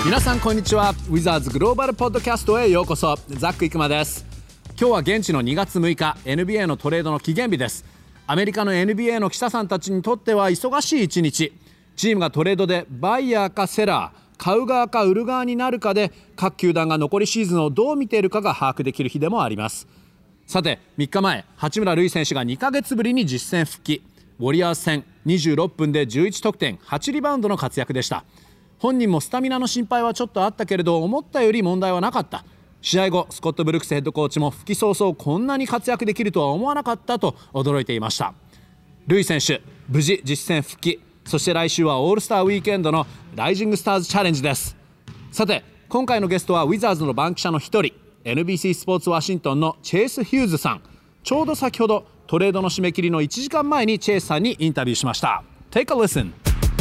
皆さんこんにちは。ウィザーズグローバルポッドキャストへようこそ。ザック・イクマです。今日は現地の2月6日 NBA のトレードの期限日です。アメリカの NBA の記者さんたちにとっては忙しい一日。チームがトレードでバイヤーかセラー、買う側か売る側になるかで、各球団が残りシーズンをどう見ているかが把握できる日でもあります。さて3日前、八村塁選手が2ヶ月ぶりに実戦復帰。ウォリアーズ戦26分で11得点8リバウンドの活躍でした。本人もスタミナの心配はちょっとあったけれど、思ったより問題はなかった。試合後、スコット・ブルックスヘッドコーチも復帰早々こんなに活躍できるとは思わなかったと驚いていました。ルイ選手、無事実戦復帰。そして来週はオールスターウィークエンドのライジングスターズチャレンジです。さて今回のゲストはウィザーズの番記者の一人、 NBC スポーツワシントンのチェイス・ヒューズさん。ちょうど先ほどトレードの締め切りの1時間前にチェイスさんにインタビューしました。 Take a listen。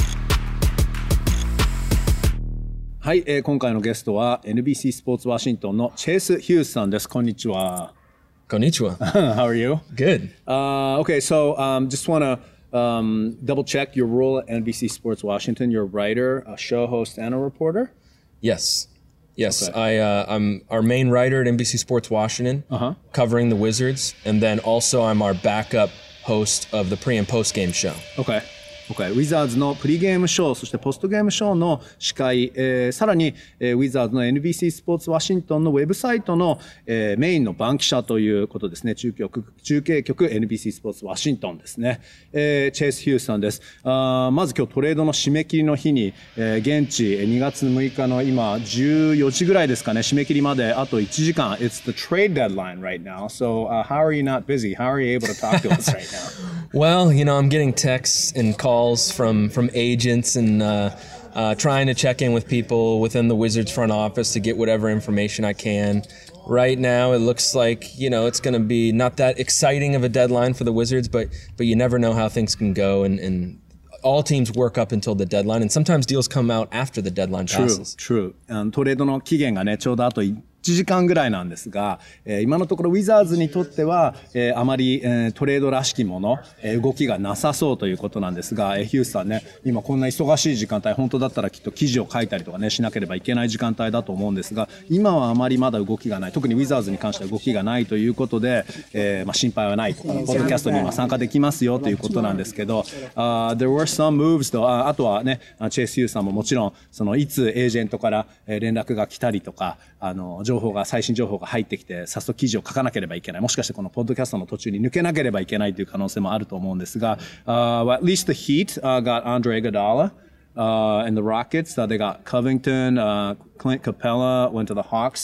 はい、今回のゲストは NBC スポーツワシントンのチェイス・ヒューズさんです。こんにちは。 Konnichiwa. How are you? Good. Okay, so just want to double check your role at NBC Sports Washington. You're a writer, a show host, and a reporter? Yes. Okay. I'm our main writer at NBC Sports Washington, covering the Wizards, and then also I'm our backup host of the pre and post game show. Okay.ウィザーズのプリゲームショー、そしてポストゲームショーの司会、さらに、ウィザーズの NBC スポーツワシントンのウェブサイトの、メインの番記者ということですね。中継局 NBC スポーツワシントンですね。チェイス・ヒュースさんです。まず今日トレードの締め切りの日に、現地2月6日の今14時ぐらいですかね、締め切りまであと1時間。It's the trade deadline right now. So, how are you not busy? How are you able to talk to us right now? Well, I'm getting texts and calls from agents and trying to check in with people within the Wizards front office to get whatever information I can. Right now, it looks like, it's going to be not that exciting of a deadline for the Wizards, but you never know how things can go, and all teams work up until the deadline, and sometimes deals come out after the deadline passes. True. トレードの期限がね、ちょうどあと1時間ぐらいなんですが、今のところウィザーズにとっては、あまり、トレードらしきもの、動きがなさそうということなんですが、ヒュースさんね、今こんな忙しい時間帯、本当だったらきっと記事を書いたりとかね、しなければいけない時間帯だと思うんですが、今はあまりまだ動きがない、特にウィザーズに関しては動きがないということで、心配はないと、ポッドキャストに今参加できますよということなんですけど、there were some moves と、あとはね、チェイス・ヒュースさんももちろん、いつエージェントから連絡が来たりとか、最新情報が入ってきて、早速記事を書かなければいけない。もしかしてこのポッドキャストの途中に抜けなければいけないという可能性もあると思うんですが、at least the Heat got Andre Iguodala.And the Rockets, they got Covington, Clint Capella went to the Hawks.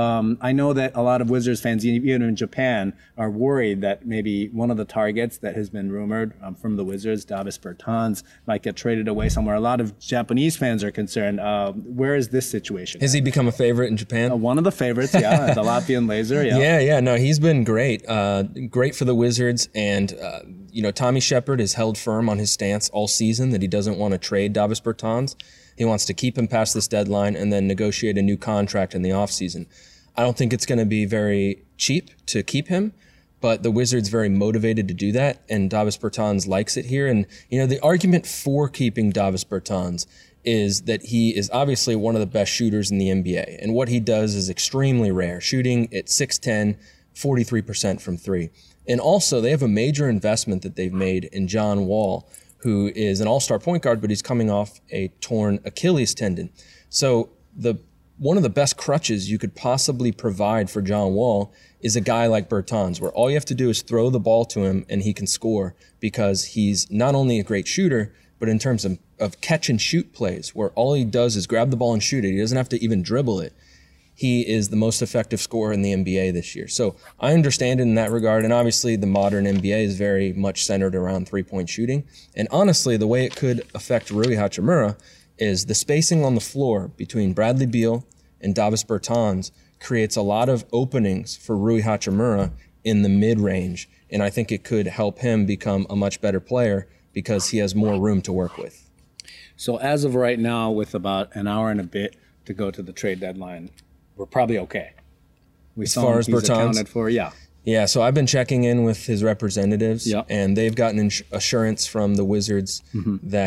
I know that a lot of Wizards fans, even in Japan, are worried that maybe one of the targets that has been rumored from the Wizards, Davis Bertans, might get traded away somewhere. A lot of Japanese fans are concerned. Where is this situation? Has he become a favorite in Japan? One of the favorites, yeah. The Latvian Laser, yeah. Yeah. No, he's been great. Great for the Wizards. And, Tommy Shepard has held firm on his stance all season that he doesn't want to trade Davis Bertans. He wants to keep him past this deadline and then negotiate a new contract in the offseason. I don't think it's going to be very cheap to keep him, but the Wizards very motivated to do that, and Davis Bertans likes it here. And, the argument for keeping Davis Bertans is that he is obviously one of the best shooters in the NBA, and what he does is extremely rare, shooting at 6'10", 43% from three. And also, they have a major investment that they've made in John Wall, who is an all-star point guard, but he's coming off a torn Achilles tendon. So one of the best crutches you could possibly provide for John Wall is a guy like Bertans, where all you have to do is throw the ball to him and he can score, because he's not only a great shooter, but in terms of catch and shoot plays, where all he does is grab the ball and shoot it. He doesn't have to even dribble it. He is the most effective scorer in the NBA this year. So I understand it in that regard. And obviously the modern NBA is very much centered around three-point shooting. And honestly, the way it could affect Rui Hachimura is the spacing on the floor between Bradley Beal and Davis Bertans creates a lot of openings for Rui Hachimura in the mid-range. And I think it could help him become a much better player because he has more room to work with. So as of right now, with about an hour and a bit to go to the trade deadline, we're probably okay. As far as Bertans, accounted for, yeah. Yeah, so I've been checking in with his representatives, and they've gotten assurance from the Wizards that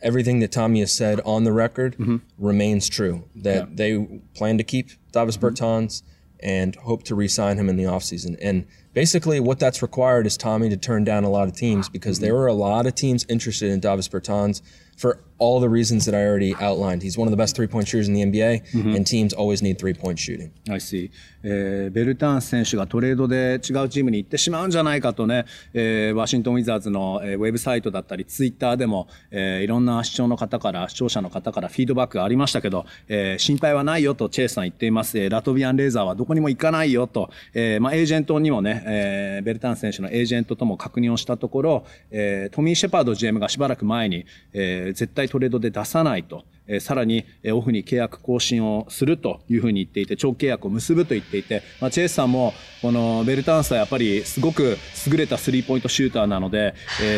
everything that Tommy has said on the record remains true, that they plan to keep Davis Bertans and hope to re-sign him in the offseason. And basically what that's required is Tommy to turn down a lot of teams, because there are a lot of teams interested in Davis Bertans for all the reasons that I already outlined. He's one of the best three-point shooters in the NBA, and teams always need three-point shooting. I see. ベルタンス選手がトレードで違うチームに行ってしまうんじゃないかとね、ワシントンウィザーズの、ウェブサイトだったりツイッターでも、いろんな視聴者の方からフィードバックがありましたけど、心配はないよとチェイスさん言っています。ラトビアンレーザーはどこにも行かないよと、エージェントにもね、ベルタンス選手のエージェントとも確認をしたところ、トミー・シェパード GM がしばらく前に、絶対トレードで出さないと。さらにオフに契約更新をするというふうに言っていて、長期契約を結ぶと言っていて、チェイスさんもこのベルタンスはやっぱりすごく優れたスリーポイントシューターなので、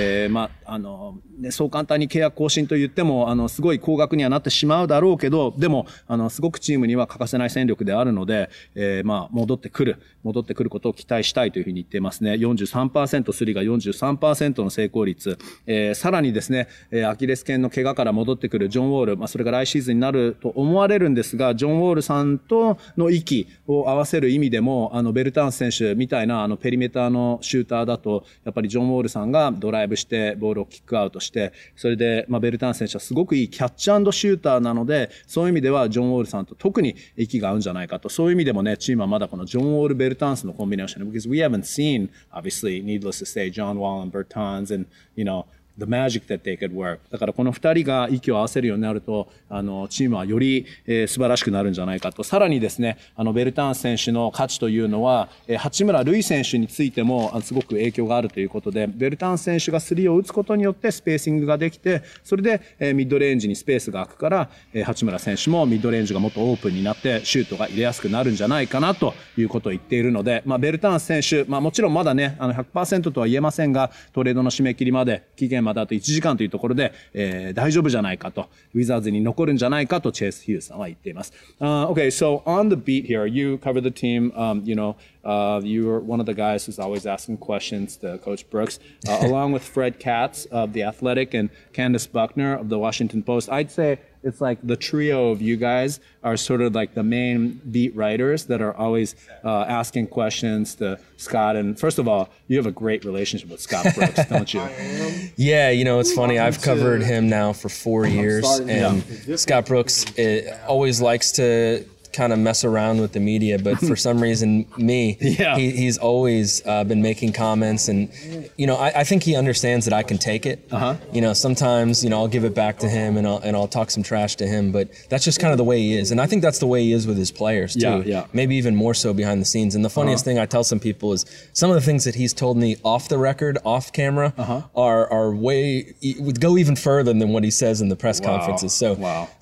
そう簡単に契約更新と言ってもすごい高額にはなってしまうだろうけど、でもすごくチームには欠かせない戦力であるので、戻ってくることを期待したいというふうに言っていますね。43%、スリーが 43% の成功率、さらにですね、アキレス腱の怪我から戻ってくるジョン・ウォール、それが来シーズンになると思われるんですが、ジョン・ウォールさんとの息を合わせる意味でも、ベルタンス選手みたいなペリメーターのシューターだと、やっぱりジョン・ウォールさんがドライブしてボールをキックアウトして、それで、ベルタンス選手はすごくいいキャッチ&シューターなので、そういう意味ではジョン・ウォールさんと特に息が合うんじゃないかと、そういう意味でもね、チームはまだこのジョン・ウォール・ベルタンスのコンビネーション、because we haven't seen, obviously, needless to say, John Wall and Bertans and, the magic that they could work. だからこの二人が息を合わせるようになると、チームはより、素晴らしくなるんじゃないかと。さらにですね、ベルタンス選手の価値というのは、八村塁選手についてもすごく影響があるということで、ベルタンス選手がスリーを打つことによってスペーシングができて、それで、ミッドレンジにスペースが空くから、八村選手もミッドレンジがもっとオープンになってシュートが入れやすくなるんじゃないかなということを言っているので、ベルタンス選手、もちろんまだね、100% とは言えませんが、トレードの締め切りまで期限まであと1時間というところで、大丈夫じゃないかと、ウィザーズに残るんじゃないかとチェイス・ヒューズさんは言っています。Okay, so on the beat here, you cover the team, you're one of the guys who's always asking questions to Coach Brooks, along with Fred Katz of The Athletic and Candace Buckner of The Washington Post. I'd say it's like the trio of you guys are sort of like the main beat writers that are always asking questions to Scott. And first of all, you have a great relationship with Scott Brooks, don't you? Yeah, it's funny. I've covered him now for 4 years, and Scott Brooks always likes to kind of mess around with the media, but for some reason, he's always been making comments, and I think he understands that I can take it. Sometimes I'll give it back to him, and I'll talk some trash to him, but that's just kind of the way he is, and I think that's the way he is with his players too. Maybe even more so behind the scenes. And the funniest thing I tell some people is some of the things that he's told me off the record, off camera, are would go even further than what he says in the press conferences. So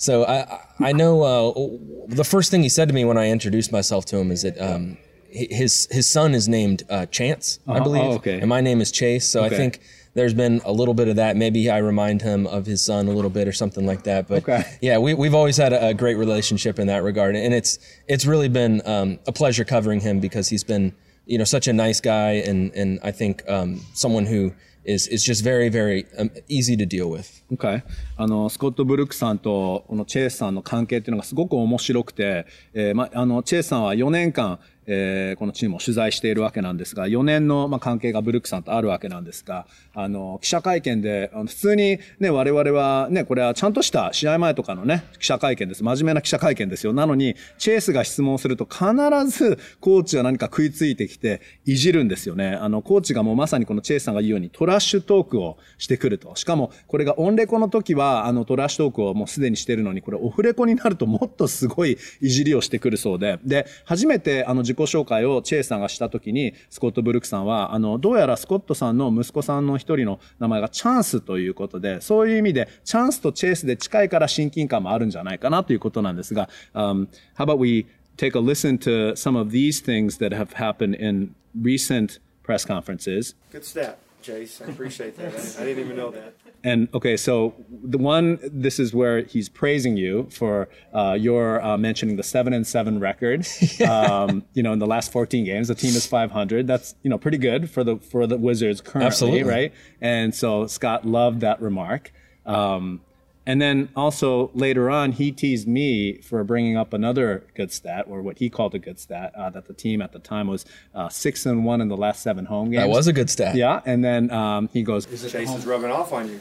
I know the first thing he said to me when I introduced myself to him is that his son is named Chance, I believe, and my name is Chase. So I think there's been a little bit of that. Maybe I remind him of his son a little bit or something like that. But yeah, we've always had a great relationship in that regard, and it's really been a pleasure covering him because he's been such a nice guy, and I think someone who is just very, very easy to deal with. Okay. スコット・ブルックさんとこのチェイスさんの関係っていうのがすごく面白くて、チェイスさんは4年間、このチームを取材しているわけなんですが、4年の関係がブルックさんとあるわけなんですが、記者会見で普通にね、我々はね、これはちゃんとした試合前とかのね、記者会見です。真面目な記者会見ですよ。なのにチェイスが質問すると必ずコーチが何か食いついてきていじるんですよね。コーチがもうまさにこのチェイスさんが言うようにトラッシュトークをしてくると。しかもこれがオンレコの時はトラッシュトークをもうすでにしてるのに、これオフレコになるともっとすごいいじりをしてくるそうで、初めて自己紹介をチェイスさんがした時にスコット・ブルックさんはどうやらスコットさんの息子さんの一人の名前がチャンスということで、そういう意味でチャンスとチェイスで近いから親近感もあるんじゃないかなということなんですが、How about we take a listen to some of these things that have happened in recent press conferences? Good stat, Chase. I appreciate that. I didn't even know that. And okay, so this is where he's praising you for your mentioning the 7-7 record. In the last 14 games, the team is 500. That's pretty good for the Wizards currently, Absolutely. Right? And so Scott loved that remark. And then also later on, he teased me for bringing up another good stat, or what he called a good stat, that the team at the time was 6-1 in the last 7 home games. That was a good stat. Yeah, and then he goes, Chase is rubbing off on you.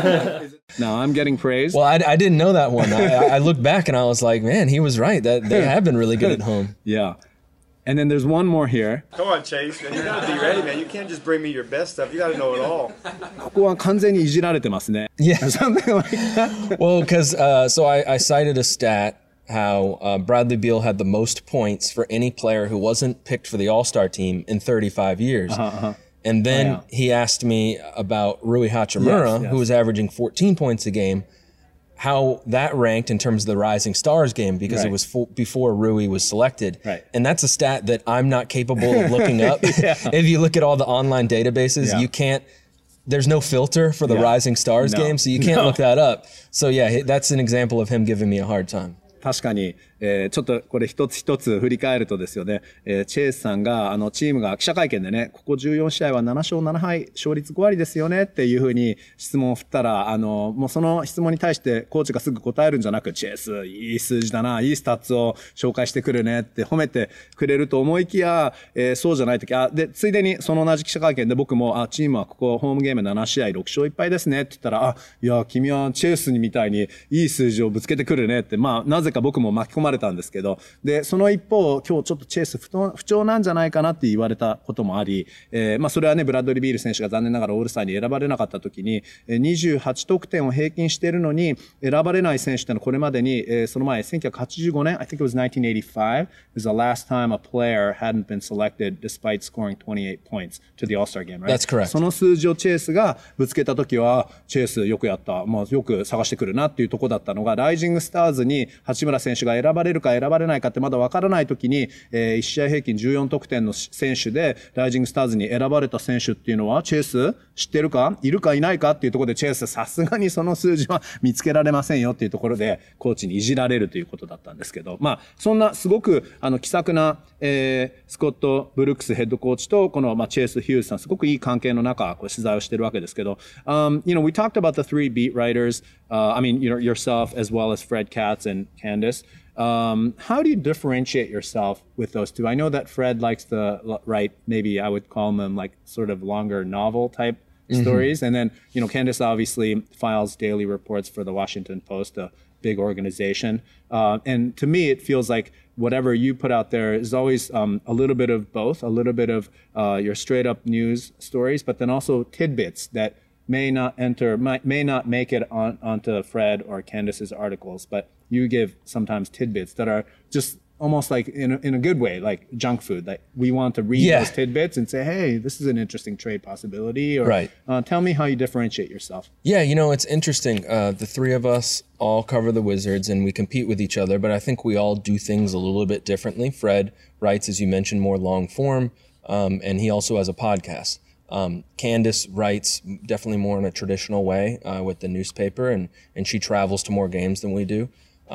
"No, I'm getting praised." Well, I didn't know that one. I looked back and I was like, man, he was right. That they have been really good at home. Yeah. And then there's one more here. Come on, Chase, man. You gotta be ready, man. You can't just bring me your best stuff. You gotta know it all. ここは完全にいじられてますね。 Yeah. Something like that. Well, because so I cited a stat how Bradley Beal had the most points for any player who wasn't picked for the All-Star team in 35 years. And then he asked me about Rui Hachimura, who was averaging 14 points a game, how that ranked in terms of the Rising Stars game, because it was before Rui was selected. Right. And that's a stat that I'm not capable of looking up. If you look at all the online databases, you can't, there's no filter for the Rising Stars game, so you can't look that up. So yeah, that's an example of him giving me a hard time. 確かに、ちょっとこれ一つ一つ振り返るとですよね、チェイスさんがチームが記者会見でね、ここ14試合は7勝7敗勝率5割ですよねっていうふうに質問を振ったら、もうその質問に対してコーチがすぐ答えるんじゃなく、チェイスいい数字だな、いいスタッツを紹介してくるねって褒めてくれると思いきや、そうじゃないとき、でついでにその同じ記者会見で僕もチームはここホームゲーム7試合6勝1敗ですねって言ったら、いや君はチェイスみたいにいい数字をぶつけてくるねって、まあなぜか僕も巻き込まれたんですけど、でその一方今日ちょっとチェイス不調なんじゃないかなって言われたこともあり、まあそれはねブラッドリー・ビール選手が残念ながらオールスターに選ばれなかった時に28得点を平均しているのに選ばれない選手ってのはこれまでにその前1985年 I think it was 1985 was the last time a player hadn't been selected despite scoring 28 points to the All-Star game, right? That's correct. その数字をチェイスがぶつけた時はチェイスよくやった、まあ、よく探してくるなっていうところだったのがライジングスターズに八村選手が選ばれるか選ばれないかってまだ分からない時に、1試合平均14得点の選手でライジングスターズに選ばれた選手っていうのはチェイス知ってるかいるかいないかっていうところでチェイスさすがにその数字は見つけられませんよっていうところでコーチにいじられるということだったんですけど、まあそんなすごく気さくな、スコット・ブルックスヘッドコーチとこの、チェイス・ヒューズさんすごくいい関係の中こう取材をしてるわけですけど、you know, we talked about the three beat writers, I mean, you know, yourself as well as Fred Katz and Candace. How do you differentiate yourself with those two? I know that Fred likes to write, maybe I would call them like sort of longer novel type stories. And then, you know, Candace obviously files daily reports for the Washington Post, a big organization. And to me, it feels like whatever you put out there is always a little bit of both, a little bit of your straight up news stories, but then also tidbits that may not make it onto Fred or Candace's articles, but you give sometimes tidbits that are just almost like in a good way, like junk food. Like we want to read those tidbits and say, hey, this is an interesting trade possibility. Or tell me how you differentiate yourself. Yeah, you know, it's interesting. The three of us all cover the Wizards and we compete with each other, but I think we all do things a little bit differently. Fred writes, as you mentioned, more long form, and he also has a podcast. Candace writes definitely more in a traditional way with the newspaper, and she travels to more games than we do.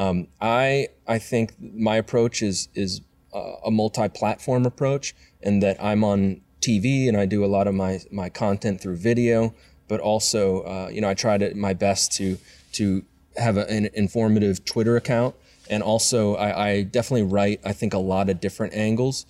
I think my approach is a multi-platform approach, in that I'm on TV and I do a lot of my content through video, but also you know, I try my best to have an informative Twitter account, and also I definitely write, I think, a lot of different angles.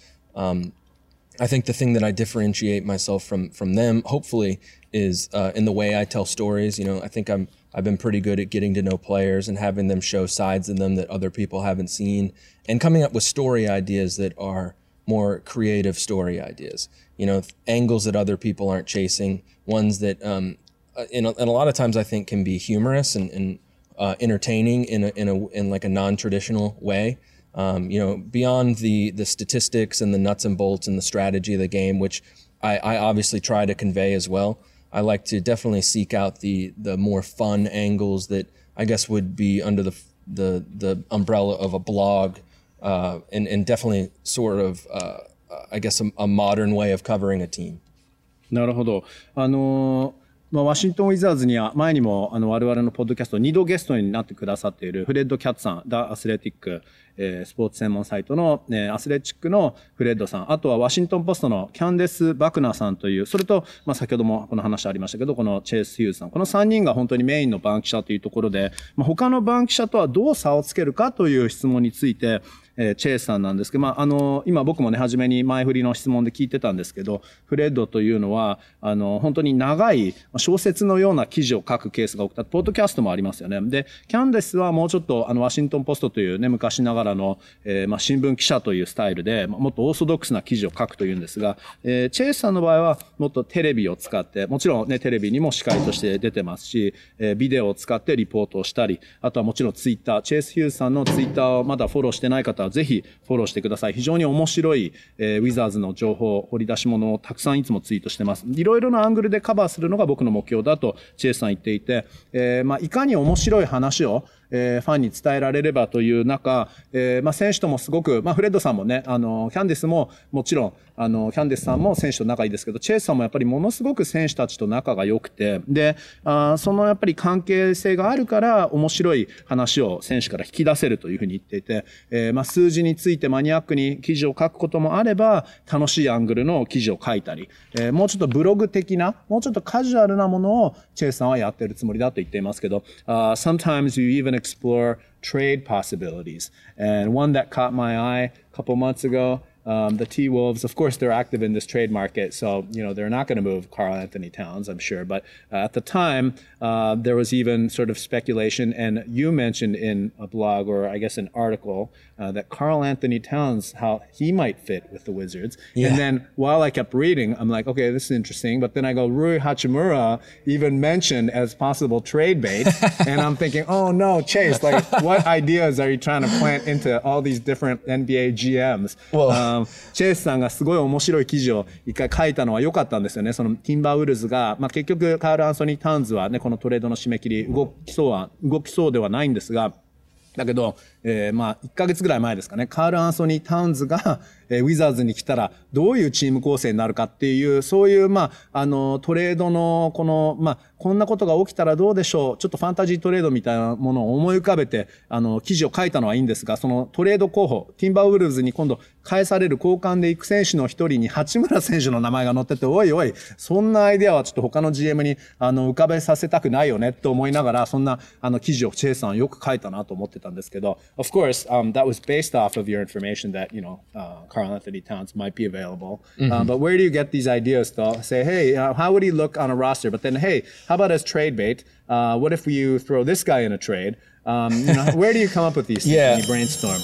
I think the thing that I differentiate myself from them, hopefully, is in the way I tell stories. You know, I think I've been pretty good at getting to know players and having them show sides of them that other people haven't seen, and coming up with story ideas that are more creative story ideas. You know, angles that other people aren't chasing, ones that, and a lot of times I think can be humorous and entertaining in like a non-traditional way. You know, beyond the statistics and the nuts and bolts and the strategy of the game, which I obviously try to convey as well. I like to definitely seek out the more fun angles that I guess would be under the umbrella of a blog, and definitely sort of I guess a modern way of covering a team. なるほど。 ワシントン・ウィザーズには前にも我々のポッドキャスト2度ゲストになってくださっているフレッド・キャッツさん、ダ・アスレティック、スポーツ専門サイトの、アスレチックのフレッドさん、あとはワシントン・ポストのキャンデス・バクナーさんという、それと、先ほどもこの話ありましたけど、このチェイス・ヒューズさん、この3人が本当にメインの番記者というところで、他の番記者とはどう差をつけるかという質問について、チェイスさんなんですけど、今僕もね、初めに前振りの質問で聞いてたんですけど、フレッドというのは、本当に長い小説のような記事を書くケースが多くて、ポッドキャストもありますよね。で、キャンデスはもうちょっと、ワシントンポストというね、昔ながらの、新聞記者というスタイルで、もっとオーソドックスな記事を書くというんですが、チェイスさんの場合は、もっとテレビを使って、もちろんね、テレビにも司会として出てますし、ビデオを使ってリポートをしたり、あとはもちろんツイッター、チェイス・ヒューズさんのツイッターをまだフォローしてない方は、ぜひフォローしてください。非常に面白い、ウィザーズの情報、掘り出し物をたくさんいつもツイートしてます。いろいろなアングルでカバーするのが僕の目標だとチェイスさん言っていて、いかに面白い話をファンに伝えられればという中、選手ともすごく、フレッドさんもね、キャンディスももちろん、キャンディスさんも選手と仲いいですけど、チェイスさんもやっぱりものすごく選手たちと仲が良くて、で、そのやっぱり関係性があるから面白い話を選手から引き出せるというふうに言っていて、数字についてマニアックに記事を書くこともあれば、楽しいアングルの記事を書いたり、もうちょっとブログ的な、もうちょっとカジュアルなものをチェイスさんはやってるつもりだと言っていますけど、sometimes you even explore trade possibilities. And one that caught my eye a couple months ago, the T-Wolves, of course, they're active in this trade market, so, they're not going to move Karl Anthony Towns, I'm sure. But at the time, there was even sort of speculation, and you mentioned in a blog or I guess an article that Karl Anthony Towns, how he might fit with the Wizards. Yeah. And then while I kept reading, I'm like, okay, this is interesting. But then I go, Rui Hachimura even mentioned as possible trade bait. And I'm thinking, oh no, Chase, like what ideas are you trying to plant into all these different NBA GMs? Well,チェイスさんがすごい面白い記事を一回書いたのは良かったんですよね。そのティンバーウルズが、結局カール・アンソニー・タウンズはね、このトレードの締め切り動きそうではないんですが、だけど、1ヶ月ぐらい前ですかね、カール・アンソニー・タウンズが、ウィザーズに来たらどういうチーム構成になるかっていう、そういう、トレードの、こんなことが起きたらどうでしょう。ちょっとファンタジートレードみたいなものを思い浮かべて、記事を書いたのはいいんですが、そのトレード候補、ティンバーウルズに今度返される交換で行く選手の一人に八村選手の名前が載ってて、おいおい、そんなアイデアはちょっと他の GM に浮かべさせたくないよねと思いながら、そんな記事をチェイスさんよく書いたなと思ってたんですけど、Of course, that was based off of your information that, Karl Anthony Towns might be available. But where do you get these ideas to say, hey, how would he look on a roster? But then, hey, how about as trade bait? What if you throw this guy in a trade? Where do you come up with these things when you brainstorm?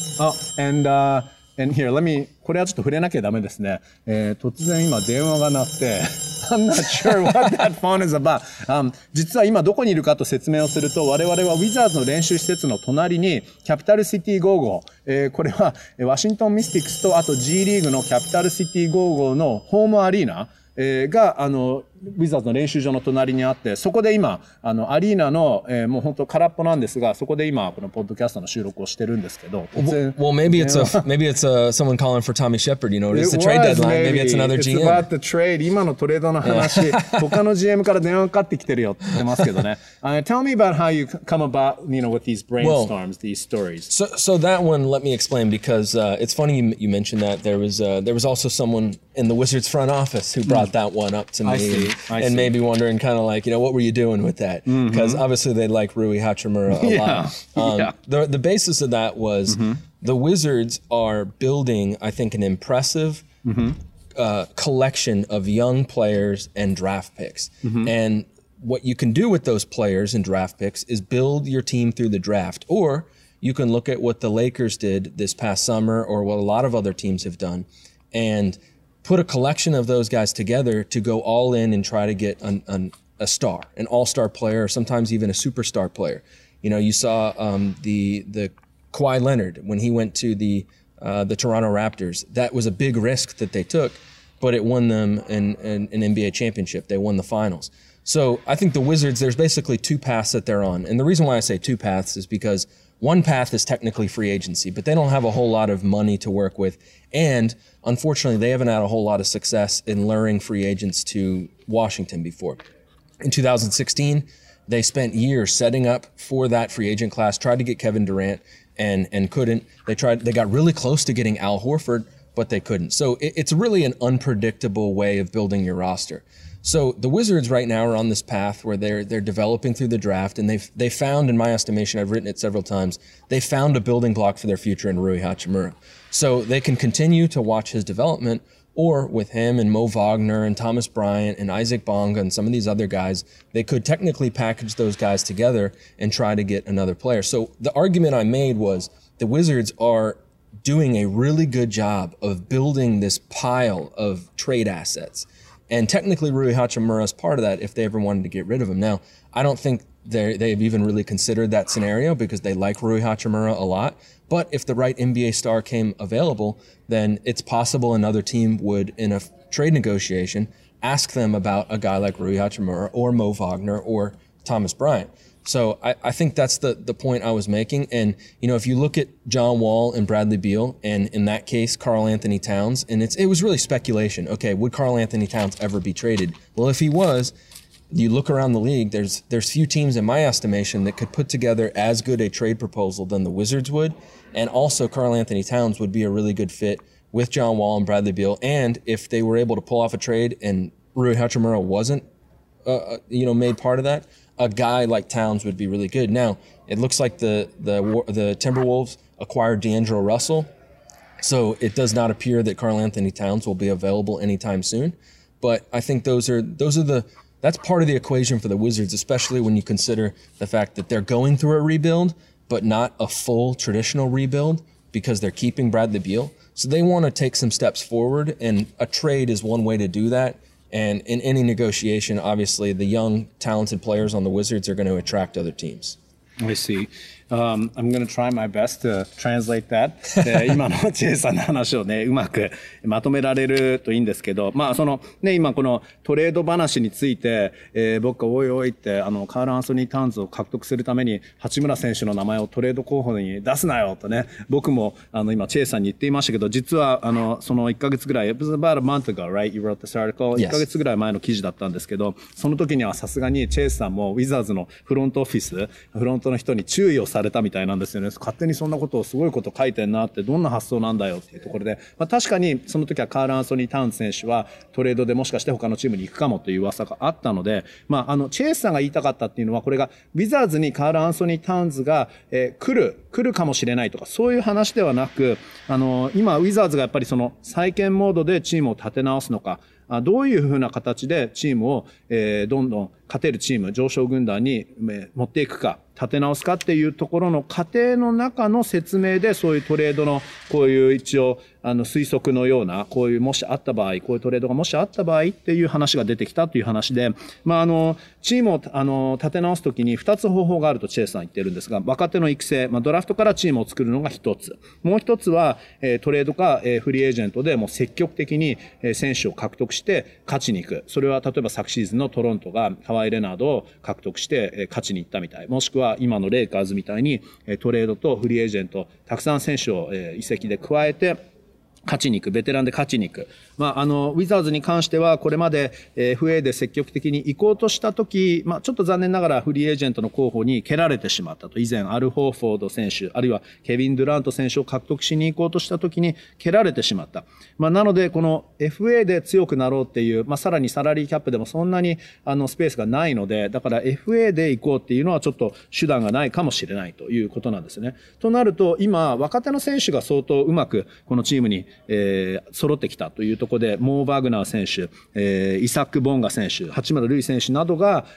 And here, これはちょっと触れなきゃダメですね。突然今電話が鳴って、I'm not sure what that phone is about. 実は今どこにいるかと説明をすると、我々はウィザーズの練習施設の隣にキャピタルシティゴーゴー、これはワシントンミスティックスとあと G リーグのキャピタルシティゴーゴーのホームアリーナ、がウィザーズの練習場の隣にあって、そこで今アリーナの、もう本当空っぽなんですが、そこで今このポッドキャストの収録をしてるんですけど。 Well, maybe it's someone calling for Tommy Shepard. It's the trade deadline. Maybe it's another GM. It's about the trade. 今のトレードの話、他の GM から電話かかってきてるよって言ってますけどね。Tell me about how you come about, with these brainstorms, these stories. So that one, let me explain because it's funny you mentioned that there was also someone in the Wizards front office who brought that one up to me and maybe wondering kind of like, what were you doing with that? Because obviously they like Rui Hachimura a lot. The basis of that was the Wizards are building, I think, an impressive collection of young players and draft picks. And what you can do with those players and draft picks is build your team through the draft, or you can look at what the Lakers did this past summer or what a lot of other teams have done and put a collection of those guys together to go all in and try to get a star, an all-star player, or sometimes even a superstar player. You saw the Kawhi Leonard when he went to the Toronto Raptors. That was a big risk that they took, but it won them an NBA championship. They won the finals. So I think the Wizards, there's basically two paths that they're on. And the reason why I say two paths is because one path is technically free agency, but they don't have a whole lot of money to work with. And unfortunately, they haven't had a whole lot of success in luring free agents to Washington before. In 2016, they spent years setting up for that free agent class, tried to get Kevin Durant and couldn't. They got really close to getting Al Horford, but they couldn't. So it's really an unpredictable way of building your roster. So the Wizards right now are on this path where they're developing through the draft, and they found, in my estimation, I've written it several times, they found a building block for their future in Rui Hachimura. So they can continue to watch his development, or with him and Mo Wagner and Thomas Bryant and Isaac Bonga and some of these other guys, they could technically package those guys together and try to get another player. So the argument I made was the Wizards are doing a really good job of building this pile of trade assets. And technically Rui Hachimura is part of that if they ever wanted to get rid of him. Now, I don't think they've even really considered that scenario because they like Rui Hachimura a lot. But if the right NBA star came available, then it's possible another team would, in a trade negotiation, ask them about a guy like Rui Hachimura or Mo Wagner or Thomas Bryant. So I think that's the point I was making. And, you know, if you look at John Wall and Bradley Beal, and in that case, Karl Anthony Towns, and it was really speculation. Okay, would Karl Anthony Towns ever be traded? Well, if he was, you look around the league, there's few teams in my estimation that could put together as good a trade proposal than the Wizards would. And also Karl Anthony Towns would be a really good fit with John Wall and Bradley Beal. And if they were able to pull off a trade and Rui Hachimura wasn't, made part of that, a guy like Towns would be really good. Now, it looks like the Timberwolves acquired D'Angelo Russell, so it does not appear that Karl Anthony Towns will be available anytime soon. But I think that's part of the equation for the Wizards, especially when you consider the fact that they're going through a rebuild, but not a full traditional rebuild because they're keeping Bradley Beal. So they want to take some steps forward, and a trade is one way to do that. And in any negotiation, obviously, the young, talented players on the Wizards are going to attract other teams. I see. I'm going to try my best to translate that. 今のチェイさんの話をね、うまくまとめられるといいんですけど、まあそのね、今このトレード話について、僕がおいおいってカール・アンソニー・タウンズを獲得するために八村選手の名前をトレード候補に出すなよとね、僕も今チェイさんに言っていましたけど、実はその1ヶ月ぐらい、it was about a month ago, right? You wrote this article. 1ヶ月ぐらい前の記事だったんですけど、その時にはさすがにチェイさんもウィザーズのフロントオフィス、フロントの人に注意をされたみたいなんですよね。勝手にそんなことをすごいこと書いてんなって、どんな発想なんだよっていうところで、まあ、確かにその時はカール・アンソニー・タウンズ選手はトレードでもしかして他のチームに行くかもという噂があったので、まあチェイスさんが言いたかったっていうのは、これがウィザーズにカール・アンソニー・タウンズが、来るかもしれないとか、そういう話ではなく、今ウィザーズがやっぱりその再建モードでチームを立て直すのか、どういうふうな形でチームを、どんどん勝てるチーム、上昇軍団に持っていくか、立て直すかっていうところの過程の中の説明で、そういうトレードのこういう一応推測のような、こういうもしあった場合、こういうトレードがもしあった場合っていう話が出てきたという話で、まあチームを立て直すときに2つ方法があるとチェイスさん言ってるんですが、若手の育成、ドラフトからチームを作るのが一つ。もう一つはトレードかフリーエージェントでもう積極的に選手を獲得して勝ちに行く。それは例えば昨シーズンのトロントがカワイ・レナードを獲得して勝ちに行ったみたい。もしくは今のレイカーズみたいにトレードとフリーエージェントたくさん選手を移籍で加えて勝ちに行く、ベテランで勝ちに行く。ウィザーズに関してはこれまで FA で積極的に行こうとしたとき、ちょっと残念ながらフリーエージェントの候補に蹴られてしまったと。以前アル・ホーフォード選手、あるいはケビン・ドゥラント選手を獲得しに行こうとしたときに蹴られてしまった。なのでこの FA で強くなろうっていう、さらにサラリーキャップでもそんなにスペースがないので、だから FA で行こうっていうのはちょっと手段がないかもしれないということなんですね。となると今若手の選手が相当うまくこのチームに揃ってきたというところで、モー・バグナー選手、イサック・ボンガ選手、八村塁選手などが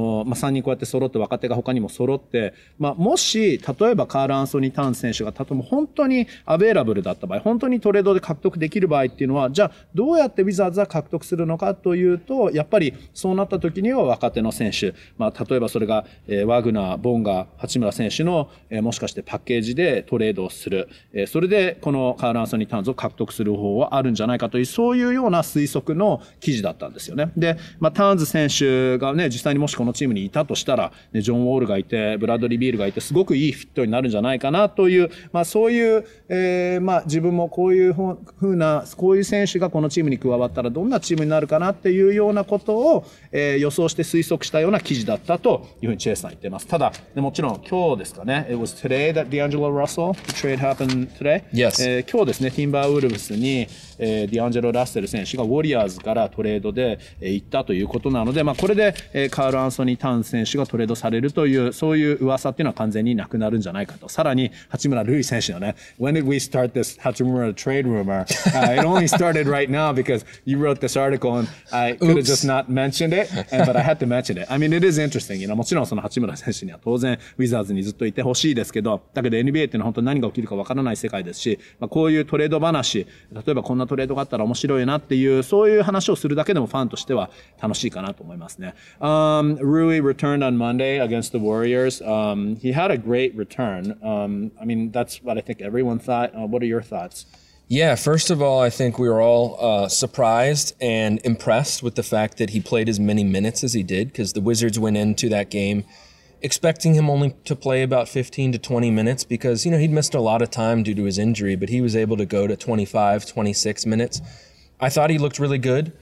3人こうやって揃って、若手が他にも揃って、もし例えばカール・アンソニー・タウンズ選手が例えば本当にアベーラブルだった場合、本当にトレードで獲得できる場合っていうのは、じゃあどうやってウィザーズは獲得するのかというと、やっぱりそうなった時には若手の選手、例えばそれがワグナー、ボンガ、八村選手のもしかしてパッケージでトレードをする、それでこのカール・アンソニー・タウンズを獲獲得する方法はあるんじゃないかという、そういうような推測の記事だったんですよね。で、ターンズ選手がね、実際にもしこのチームにいたとしたら、ね、ジョン・ウォールがいて、ブラッドリー・ビールがいて、すごくいいフィットになるんじゃないかなという、そういう、自分もこういうこういう選手がこのチームに加わったらどんなチームになるかなっていうようなことを、予想して推測したような記事だったというふうにチェイスさん言っています。ただ、もちろん今日ですかね、It was today that D'Angelo Russell, the trade happened today. Yes. 今日ですね、ティンバーウルブスに、ディアンジェロ・ラッセル選手がウォリアーズからトレードで、行ったということなので、これで、カール・アンソニー・タウンズ選手がトレードされるという、そういう噂っていうのは完全になくなるんじゃないかと。さらに、八村塁選手のね、When did we start this Hachimura trade rumor? It only started right now because you wrote this article and I could have just not mentioned it, but I had to mention it. I mean, it is interesting. もちろんその八村選手には当然ウィザーズにずっといてほしいですけど、だけど NBA っていうのは本当に何が起きるかわからない世界ですし、こういうトレード話、例えばこんなトレードがあったら面白いなっていう、そういう話をするだけでもファンとしては楽しいかなと思いますね。Rui returned on Monday against the Warriors. He had a great return. I mean, that's what I think everyone thought. What are your thoughts? Yeah, first of all, I think we were all surprised and impressed with the fact that he played as many minutes as he did, because the Wizards went into that game expecting him only to play about 15 to 20 minutes because, he'd missed a lot of time due to his injury, but he was able to go to 25, 26 minutes. I thought he looked really good.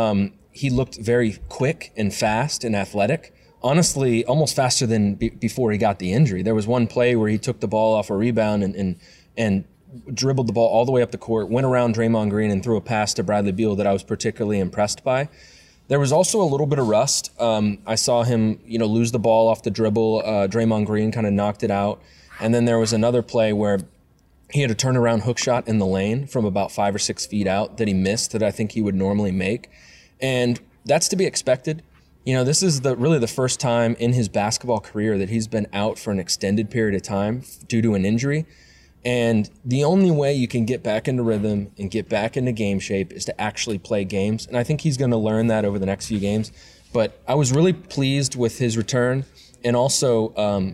He looked very quick and fast and athletic. Honestly, almost faster than before he got the injury. There was one play where he took the ball off a rebound and dribbled the ball all the way up the court, went around Draymond Green and threw a pass to Bradley Beal that I was particularly impressed by. There was also a little bit of rust. I saw him, lose the ball off the dribble. Draymond Green kind of knocked it out. And then there was another play where he had a turnaround hook shot in the lane from about 5 or 6 feet out that he missed that I think he would normally make. And that's to be expected. This is really the first time in his basketball career that he's been out for an extended period of time due to an injury. And the only way you can get back into rhythm and get back into game shape is to actually play games. And I think he's going to learn that over the next few games. But I was really pleased with his return. And also,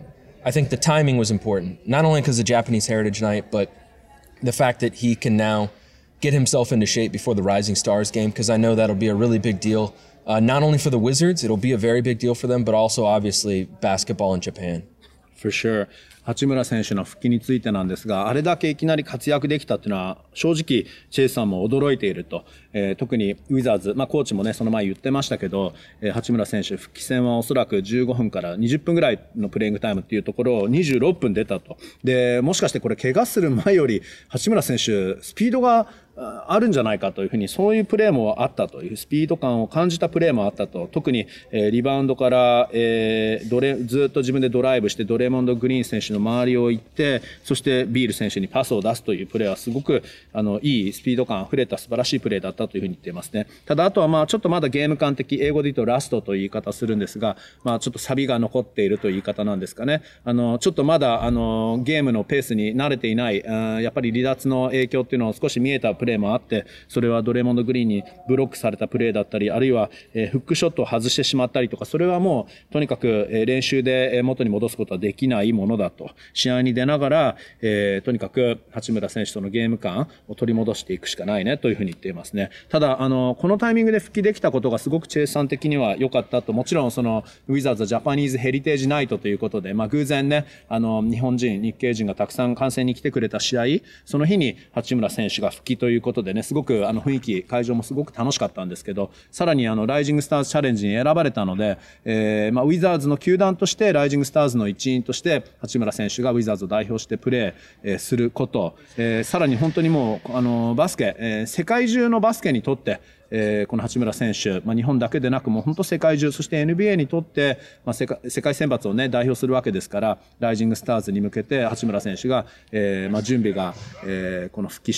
I think the timing was important, not only because of Japanese Heritage Night, but the fact that he can now get himself into shape before the Rising Stars game, because I know that'll be a really big deal, not only for the Wizards, it'll be a very big deal for them, but also obviously basketball in Japan. For sure. 八村選手の復帰についてなんですが、あれだけいきなり活躍できたっていうのは正直チェイスさんも驚いていると、特にウィザーズ、コーチもねその前言ってましたけど、八村選手復帰戦はおそらく15分から20分ぐらいのプレイングタイムっていうところを26分出たと。で、もしかしてこれ怪我する前より八村選手スピードがあるんじゃないかというふうに、そういうプレーもあったという、スピード感を感じたプレーもあったと。特に、リバウンドから、ずっと自分でドライブしてドレモンド・グリーン選手の周りを行って、そしてビール選手にパスを出すというプレーはすごくいいスピード感あふれた素晴らしいプレーだったというふうに言っていますね。ただあとはちょっとまだゲーム感的、英語で言うとラストという言い方するんですが、ちょっとサビが残っているという言い方なんですかね。ちょっとまだゲームのペースに慣れていない、やっぱり離脱の影響っていうのを少し見えたプレーもあって、それはドレモンド・グリーンにブロックされたプレーだったり、あるいはフックショットを外してしまったりとか、それはもうとにかく練習で元に戻すことはできないものだと。試合に出ながら、とにかく八村選手とのゲーム感を取り戻していくしかないねというふうに言っていますね。ただこのタイミングで復帰できたことがすごくチェイスさん的には良かったと。もちろんそのウィザーズジャパニーズヘリテージナイトということで、偶然ね日本人日系人がたくさん観戦に来てくれた試合、その日に八村選手が復帰ということでね、すごく雰囲気会場もすごく楽しかったんですけど、さらにライジングスターズチャレンジに選ばれたので、ウィザーズの球団としてライジングスターズの一員として八村選手がウィザーズを代表してプレーすること、さらに本当にもうバスケ、世界中のバスケにとってこの八村選手、日本だけでなくもう本当世界中、そして NBA にとって、世界選抜をね代表するわけですから、ライジングスターズに向けて八村選手が、準備が、この復帰して、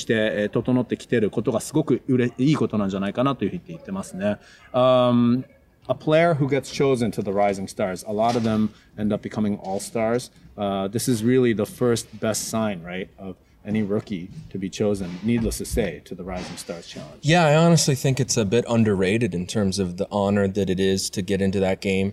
整ってきていることがすごくいいことなんじゃないかなというふうに言ってますね。A player who gets chosen to the Rising Stars, a lot of them end up becoming all-stars. This is really the first best sign, right, of any rookie to be chosen, needless to say, to the Rising Stars Challenge. Yeah, I honestly think it's a bit underrated in terms of the honor that it is to get into that game.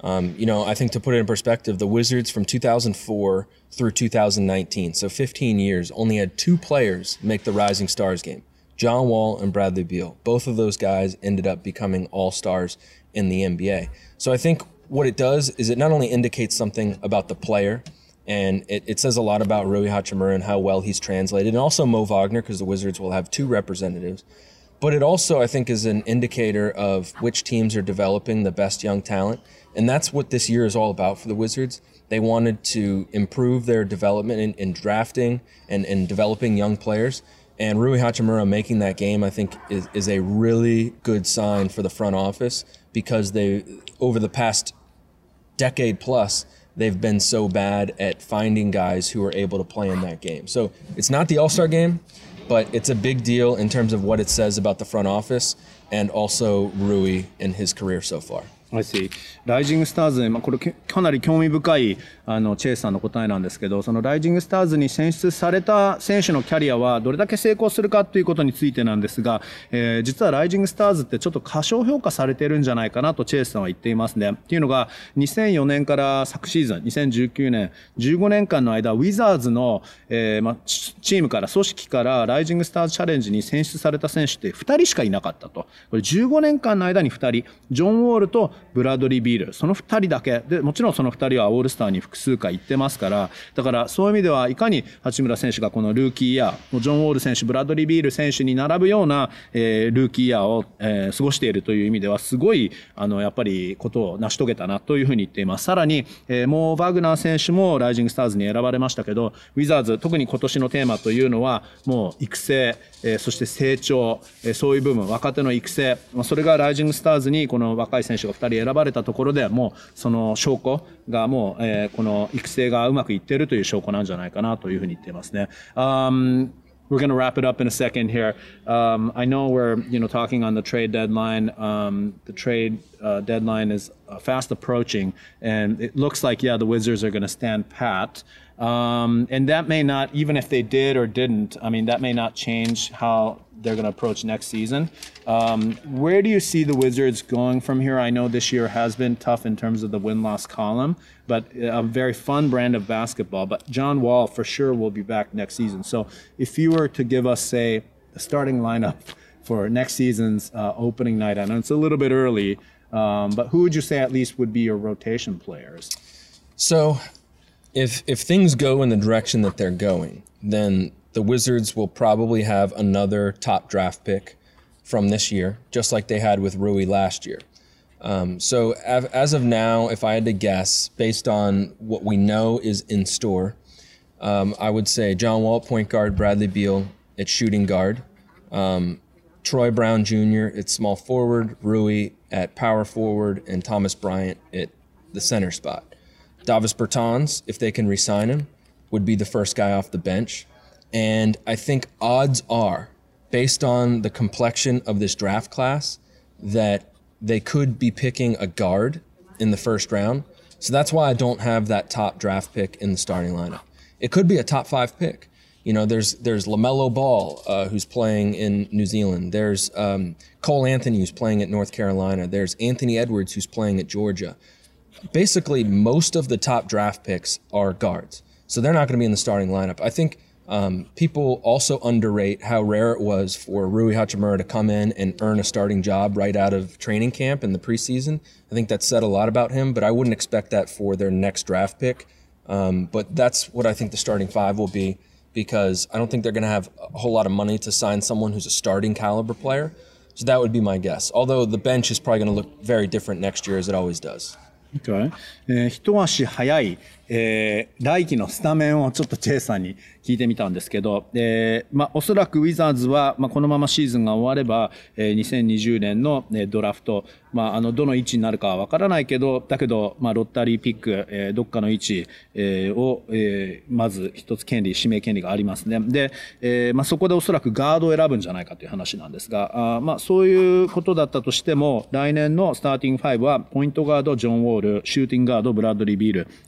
I think to put it in perspective, the Wizards from 2004 through 2019, so 15 years, only had 2 players make the Rising Stars game, John Wall and Bradley Beal. Both of those guys ended up becoming all-stars in the NBA. So I think what it does is it not only indicates something about the player, and it says a lot about Rui Hachimura and how well he's translated, and also Mo Wagner, because the Wizards will have 2 representatives. But it also, I think, is an indicator of which teams are developing the best young talent. And that's what this year is all about for the Wizards. They wanted to improve their development in drafting and in developing young players. And Rui Hachimura making that game, I think, is a really good sign for the front office, because they, over the past decade plus, they've been so bad at finding guys who are able to play in that game. So it's not the All-Star game, but it's a big deal in terms of what it says about the front office and also Rui in his career so far. I see. ライジングスターズ、これかなり興味深いチェイスさんの答えなんですけど、そのライジングスターズに選出された選手のキャリアはどれだけ成功するかということについてなんですが、実はライジングスターズってちょっと過小評価されてるんじゃないかなとチェイスさんは言っていますね。っていうのが、2004年から昨シーズン、2019年、15年間の間、ウィザーズの、チームから、組織からライジングスターズチャレンジに選出された選手って2人しかいなかったと。これ15年間の間に2人、ジョン・ウォールとブラッドリー・ビール、その2人だけで、もちろんその2人はオールスターに複数回行ってますから、だからそういう意味ではいかに八村選手がこのルーキーイヤー、ジョン・ウォール選手、ブラッドリー・ビール選手に並ぶような、ルーキーイヤーを、過ごしているという意味ではすごいやっぱりことを成し遂げたなというふうに言っています。さらに、モー・バグナー選手もライジングスターズに選ばれましたけど、ウィザーズ、特に今年のテーマというのはもう育成、そして成長、そういう部分、若手の育成、それがライジングスターズにこの若い選手が2人選ばれたところでもうその証拠がもう、この育成がうまくいっているという証拠なんじゃないかなというふうに言っていますね。We're going to wrap it up in a second here. I know we're, talking on the trade deadline. The trade deadline is fast approaching, and it looks like, the Wizards are going to stand pat. And that may not, even if they did or didn't, that may not change how they're going to approach next season. Where do you see the Wizards going from here? I know this year has been tough in terms of the win-loss column, but a very fun brand of basketball. But John Wall for sure will be back next season. So if you were to give us, say, the starting lineup for next season's opening night, I know it's a little bit early, but who would you say at least would be your rotation players? So if things go in the direction that they're going, then the Wizards will probably have another top draft pick from this year, just like they had with Rui last year. So as of now, if I had to guess, based on what we know is in store, I would say John Wall, point guard, Bradley Beal at shooting guard, Troy Brown Jr. at small forward, Rui at power forward, and Thomas Bryant at the center spot. Davis Bertans, if they can re-sign him, would be the first guy off the bench. And I think odds are, based on the complexion of this draft class, that they could be picking a guard in the first round. So that's why I don't have that top draft pick in the starting lineup. It could be a top 5 pick. There's LaMelo Ball, who's playing in New Zealand. There's Cole Anthony, who's playing at North Carolina. There's Anthony Edwards, who's playing at Georgia. Basically, most of the top draft picks are guards. So they're not going to be in the starting lineup. I think people also underrate how rare it was for Rui Hachimura to come in and earn a starting job right out of training camp in the preseason. I think that said a lot about him, but I wouldn't expect that for their next draft pick. But that's what I think the starting 5 will be, because I don't think they're going to have a whole lot of money to sign someone who's a starting caliber player. So that would be my guess. Although the bench is probably going to look very different next year, as it always does. Okay. 一足早い、来季のスタメンをちょっとチェイさんに聞いてみたんですけど、おそらくウィザーズは、このままシーズンが終われば、2020年の、ドラフト、どの位置になるかはわからないけど、だけど、ロッタリーピック、どっかの位置、を、まず一つ指名権利がありますね。で、そこでおそらくガードを選ぶんじゃないかという話なんですが、そういうことだったとしても、来年のスターティング5は、ポイントガード、ジョン・ウォール、シューティングガード、ブラッドリー・ビール、スモー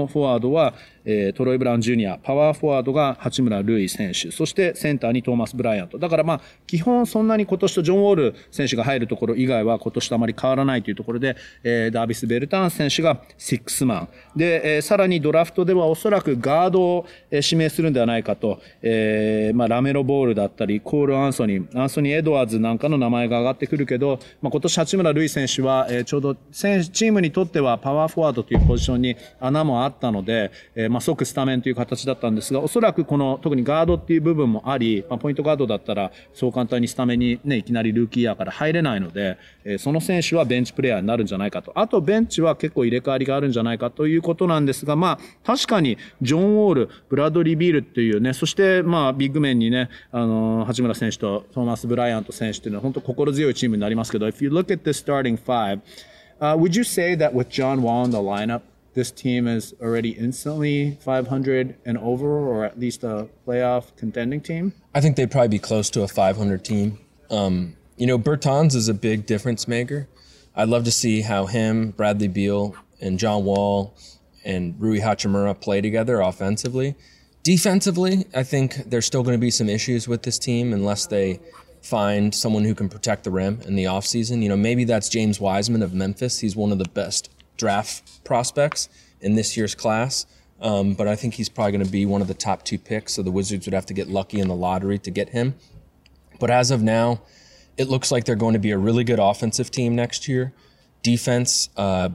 のフォワードは、トロイ・ブラウン・ジュニア、パワーフォワードが八村塁選手、そしてセンターにトーマス・ブライアント。だからまあ、基本そんなに今年とジョン・ウォール選手が入るところ以外は今年とあまり変わらないというところで、ダービス・ベルターン選手がシックスマン。で、さらにドラフトではおそらくガードを指名するんではないかと、まあ、ラメロ・ボールだったり、コール・アンソニー・エドワーズなんかの名前が上がってくるけど、まあ、今年八村塁選手は、ちょうどチームにとってはパワーフォワードというポジションに穴もあったので、まあ、即スタメンという形だったんですが、おそらくこの特にガードっていう部分もあり、まあ、ポイントガードだったらそう簡単にスタメンにね、いきなりルーキーイヤーから入れないので、その選手はベンチプレイヤーになるんじゃないかと。あとベンチは結構入れ替わりがあるんじゃないかということなんですが、まあ確かにジョン・ウォール、ブラッドリー・ビールっていうね、そしてまあビッグメンにね、八村選手とトーマス・ブライアント選手っていうのは本当心強いチームになりますけど、if you look at the starting five, would you say that with John Wall in the lineup, this team is already instantly 500 and over, or at least a playoff contending team? I think they'd probably be close to a 500 team. You know, Bertans is a big difference maker. I'd love to see how him, Bradley Beal, and John Wall and Rui Hachimura play together offensively. Defensively, I think there's still going to be some issues with this team unless they find someone who can protect the rim in the offseason. You know, maybe that's James Wiseman of Memphis. He's one of the best draft prospects in this year's class. But I think he's probably going to be one of the top 2 picks, so the Wizards would have to get lucky in the lottery to get him. But as of now, it looks like they're going to be a really good offensive team next year. Defense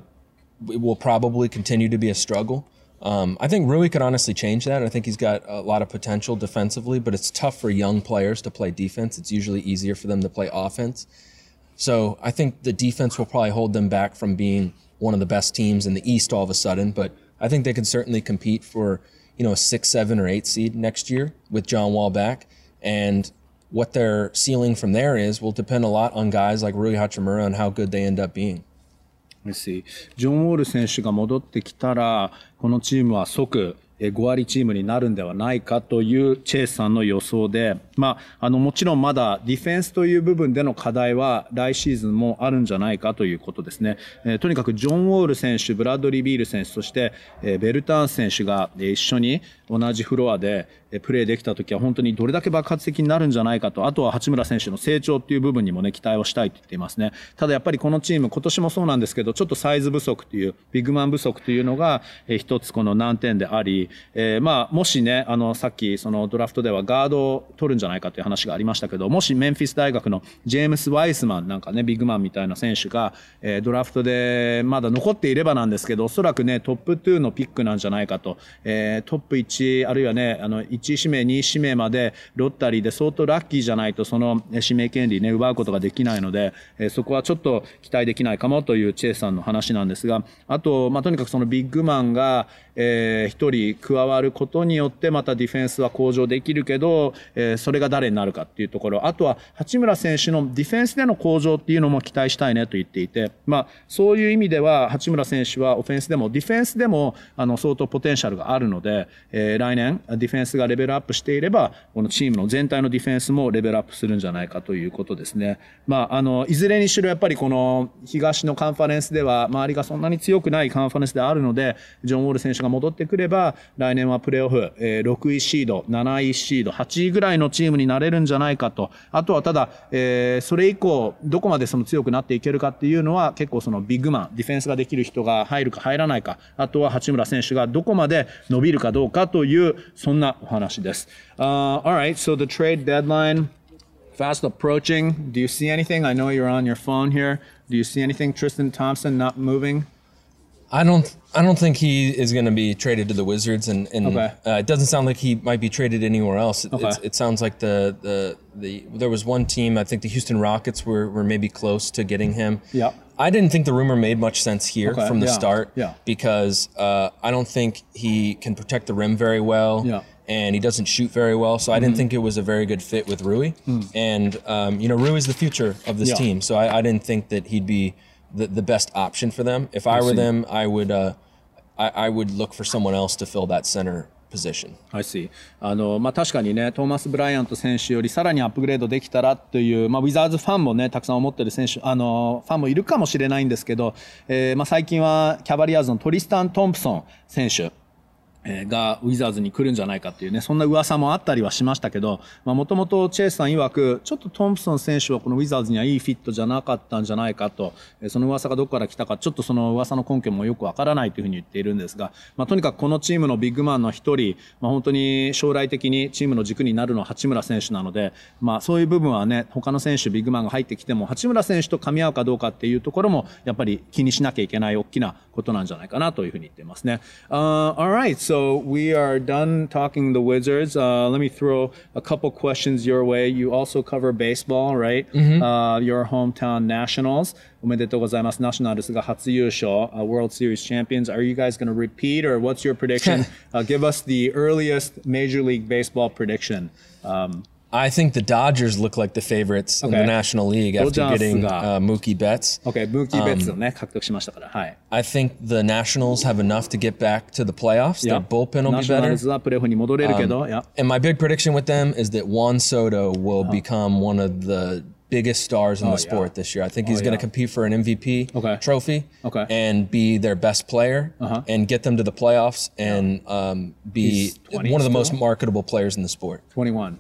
will probably continue to be a struggle. I think Rui could honestly change that. I think he's got a lot of potential defensively, but it's tough for young players to play defense. It's usually easier for them to play offense. So I think the defense will probably hold them back from being one of the best teams in the East all of a sudden, but I think they can certainly compete for, you know, a 6, 7, or 8 seed next year with John Wall back. And what their ceiling from there is will depend a lot on guys like Rui Hachimura and how good they end up being. I see. ジョン・ウォール選手が戻ってきたら、このチームは即5割チームになるんではないかというチェイスさんの予想で、まあ、もちろんまだディフェンスという部分での課題は来シーズンもあるんじゃないかということですね。とにかくジョン・ウォール選手、ブラッドリー・ビール選手、そしてベルターン選手が一緒に同じフロアでプレーできたときは本当にどれだけ爆発的になるんじゃないかと、あとは八村選手の成長っていう部分にもね、期待をしたいと言っていますね。ただやっぱりこのチーム、今年もそうなんですけど、ちょっとサイズ不足という、ビッグマン不足というのが一つこの難点であり、まあ、もしね、さっきそのドラフトではガードを取るんじゃないかという話がありましたけど、もしメンフィス大学のジェームス・ワイスマンなんかね、ビッグマンみたいな選手が、ドラフトでまだ残っていればなんですけど、おそらくね、トップ2のピックなんじゃないかと、トップ1、あるいはね、1指名、2指名までロッタリーで相当ラッキーじゃないとその指名権利ね奪うことができないので、そこはちょっと期待できないかもというチェイさんの話なんですが、あと、まあ、とにかくそのビッグマンが一人加わることによってまたディフェンスは向上できるけど、それが誰になるかっていうところ、あとは八村選手のディフェンスでの向上っていうのも期待したいねと言っていて、まあ、そういう意味では八村選手はオフェンスでもディフェンスでも相当ポテンシャルがあるので、来年ディフェンスがレベルアップしていればこのチームの全体のディフェンスもレベルアップするんじゃないかということですね。まあ、いずれにしろやっぱりこの東のカンファレンスでは周りがそんなに強くないカンファレンスであるので、ジョン・ウォール選手が戻ってくれば来年はプレーオフ、6位シード、7位シード、8位ぐらいのチームになれるんじゃないかと。あとはただ、それ以降どこまでその強くなっていけるかっていうのは結構そのビッグマン、ディフェンスができる人が入るか入らないか、あとは八村選手がどこまで伸びるかどうかというそんなお話です。Alright, so the trade deadline fast approaching. Do you see anything? I know you're on your phone here. Do you see anything? Tristan Thompson not moving? I don't think he is going to be traded to the Wizards, and okay. It doesn't sound like he might be traded anywhere else. It sounds like there was one team, I think the Houston Rockets were maybe close to getting him. Yeah. I didn't think the rumor made much sense here from the start because I don't think he can protect the rim very well. Yeah. And he doesn't shoot very well, so I didn't think it was a very good fit with Rui. And Rui is the future of this team, so I didn't think that he'd be the best option for them. If I were them, I would look for someone else to fill that center position. I see. まあ、確かにね、トーマス・ブライアント選手よりさらにアップグレードできたらという、まあ、ウィザーズファンもね、たくさん思ってる選手、ファンもいるかもしれないんですけど、まあ、最近はキャバリアーズのトリスタン・トンプソン選手がウィザーズに来るんじゃないかっていうね、そんな噂もあったりはしましたけど、もともとチェイスさん曰く、ちょっとトンプソン選手はこのウィザーズにはいいフィットじゃなかったんじゃないかと、その噂がどこから来たか、ちょっとその噂の根拠もよくわからないというふうに言っているんですが、とにかくこのチームのビッグマンの一人、本当に将来的にチームの軸になるのは八村選手なので、そういう部分はね、他の選手、ビッグマンが入ってきても、八村選手と噛み合うかどうかっていうところも、やっぱり気にしなきゃいけない大きなことなんじゃないかなというふうに言っていますね。Alright, so we are done talking the Wizards. Let me throw a couple questions your way. You also cover baseball, right? Your hometown Nationals. おめでとうございます。ナショナルズが初優勝、World Series champions. Are you guys going to repeat or what's your prediction? Give us the earliest Major League Baseball prediction. I think the Dodgers look like the favorites in the National League after getting Mookie Betts. Okay, Mookie Betts をね、獲得しましたから。はい。 I think the Nationals have enough to get back to the playoffs. Their bullpen will be better. ナショナルズはプレーオフに戻れるけど、 And my big prediction with them is that Juan Soto will become one of the biggest stars in the sport this year. I think he's going to compete for an MVP trophy and be their best player and get them to the playoffs and be one of the most marketable players in the sport. 20.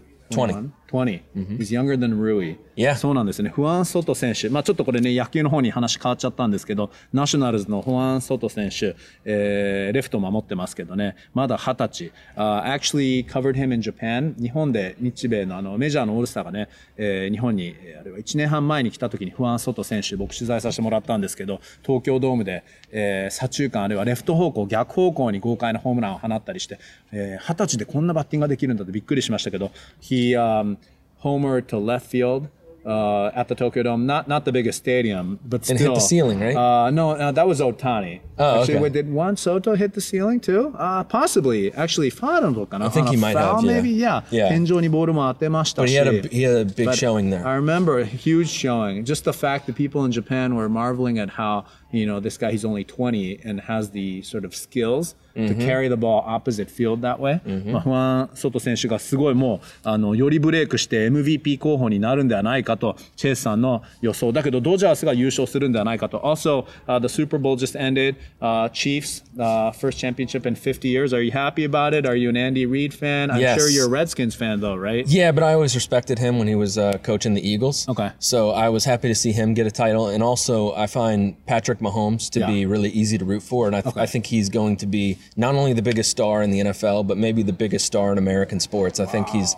He's younger than Rui. そうなんですね。フアン・ソト選手。ちょっとこれね、野球の方に話変わっちゃったんですけど、ナショナルズのフアン・ソト選手、レフト守ってますけどね、まだ20歳。actually covered him in Japan. 日本で日米のメジャーのオールスターがね、日本に、あれは1年半前に来た時にフアン・ソト選手、僕取材させてもらったんですけど、東京ドームで、左中間あるいはレフト方向、逆方向に豪快なホームランを放ったりして、20歳でこんなバッティングができるんだってびっくりしましたけど、he homered to left field at the Tokyo Dome. Not the biggest stadium, but still. And hit the ceiling, right? No, that was Ohtani. Actually, okay. Did Juan Soto hit the ceiling too? Possibly. Actually, I think he might have. Maybe, yeah. 天井にボールも当てましたし。 But he had a big showing there. I remember a huge showing. Just the fact that people in Japan were marveling at how, this guy, he's only 20 and has the sort of skills to carry the ball opposite field that way. フアン・ソト選手がすごいもう、よりブレイクして MVP 候補になるんではないかと、チェイスさんの予想。だけど、ドジャースが優勝するんではないかと。Also, the Super Bowl just ended. Chiefs, first championship in 50 years. Are you happy about it? Are you an Andy Reid fan? I'm sure you're a Redskins fan though, right? Yeah, but I always respected him when he was coaching the Eagles. Okay. So I was happy to see him get a title. And also, I find Patrick Mahomes to be really easy to root for. And I think he's going to be not only the biggest star in the NFL, but maybe the biggest star in American sports. I think he's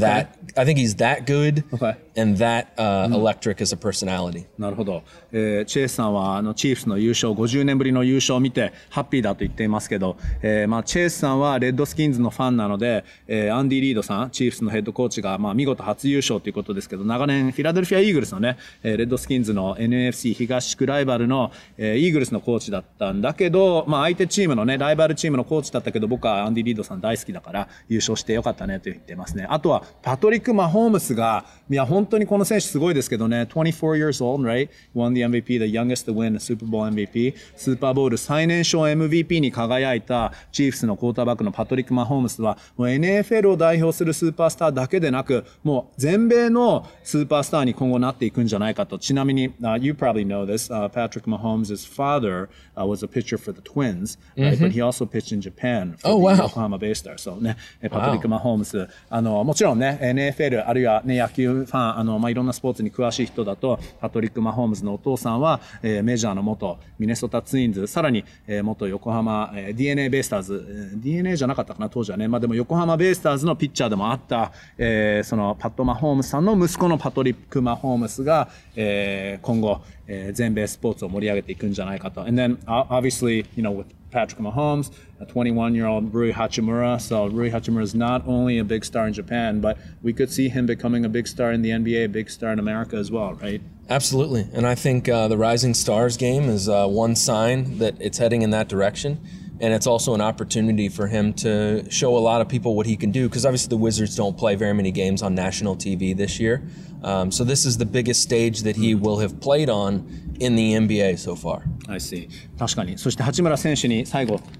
that good and that electric as a personality. なるほど。チェイスさんはチーフスの優勝、50年ぶりの優勝を見てハッピーだと言っていますけど、チェイスさんはレッドスキンズのファンなので、アンディ・リードさん、チーフスのヘッドコーチが見事初優勝ということですけど、長年フィラデルフィア・イーグルスのね、レッドスキンズの NFC 東地区ライバルの、イーグルスのコーチだったんだけど、相手チームのね、ライバルチームのコーチだったけど、僕はアンディ・リードさん大好きだから優勝してよかったねと言ってますね。あとはパトリック・マホームスが、本当にこの選手すごいですけどね、24 years old, right? Won the MVP, the youngest to win a Super Bowl MVP. スーパーボウル最年少 MVP に輝いたチーフスのクォーターバックのパトリック・マホームスは、もう NFL を代表するスーパースターだけでなく、もう全米のスーパースターに今後なっていくんじゃないかと。ちなみに、you probably know this, Patrick Mahomes' father was a pitcher for the Twins, right? But he also pitched in Japan for the Yokohama Baystars. So ね、パトリック・マホームス、もちろんね、NFL あるいはね、野球ファン、いろんなスポーツに詳しい人だと、パトリック・マホームズのお父さんは、メジャーの元ミネソタツインズ、さらに、元横浜、DNA ベイスターズ、DNA じゃなかったかな、当時はね。でも横浜ベイスターズのピッチャーでもあった、そのパット・マホームズさんの息子のパトリック・マホームズが、今後、全米スポーツを盛り上げていくんじゃないかと。And then, obviously, with Patrick Mahomes, a 21-year-old Rui Hachimura. So Rui Hachimura is not only a big star in Japan, but we could see him becoming a big star in the NBA, a big star in America as well, right? Absolutely. And I think the Rising Stars game is one sign that it's heading in that direction. And it's also an opportunity for him to show a lot of people what he can do, because obviously the Wizards don't play very many games on national TV this year. So this is the biggest stage that he will have played on in the NBA so far. I see. 確かに。そして八村選手に最後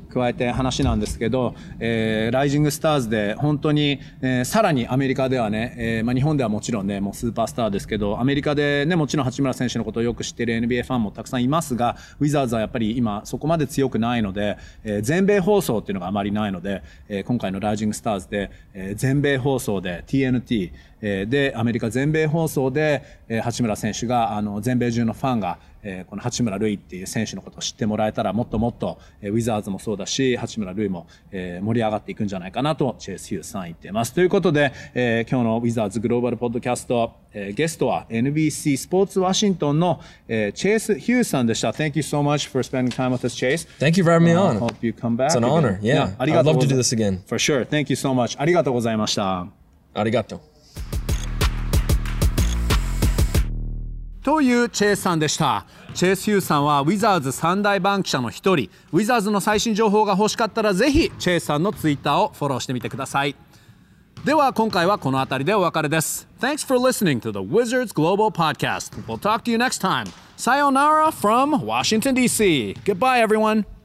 加えて話なんですけど、ライジングスターズで本当に、さらにアメリカではね、日本ではもちろんねもうスーパースターですけど、アメリカでねもちろん八村選手のことをよく知っている NBA ファンもたくさんいますが、ウィザーズはやっぱり今そこまで強くないので、全米放送っていうのがあまりないので、今回のライジングスターズで、全米放送で TNTでアメリカ全米放送で八村選手が全米中のファンがこの八村塁っていう選手のことを知ってもらえたらもっともっとウィザーズもそうだし八村塁も盛り上がっていくんじゃないかなとチェイス・ヒュースさん言っています。ということで今日のウィザーズグローバルポッドキャストゲストは NBC スポーツワシントンのチェイス・ヒュースさんでした。 Thank you so much for spending time with us, Chase. Thank you for having me on. Hope you come back. It's an honor. Yeah, I'd love to do this again. For sure. Thank you so much. ありがとうございました。 Arigato. というチェイスさんでした。チェイス・ヒューさんはウィザーズ3大番記者の一人。ウィザーズの最新情報が欲しかったらぜひチェイスさんのツイッターをフォローしてみてください。では今回はこの辺りでお別れです。Thanks for listening to the Wizards Global Podcast. We'll talk to you next time. Sayonara from Washington, D.C. Goodbye, everyone.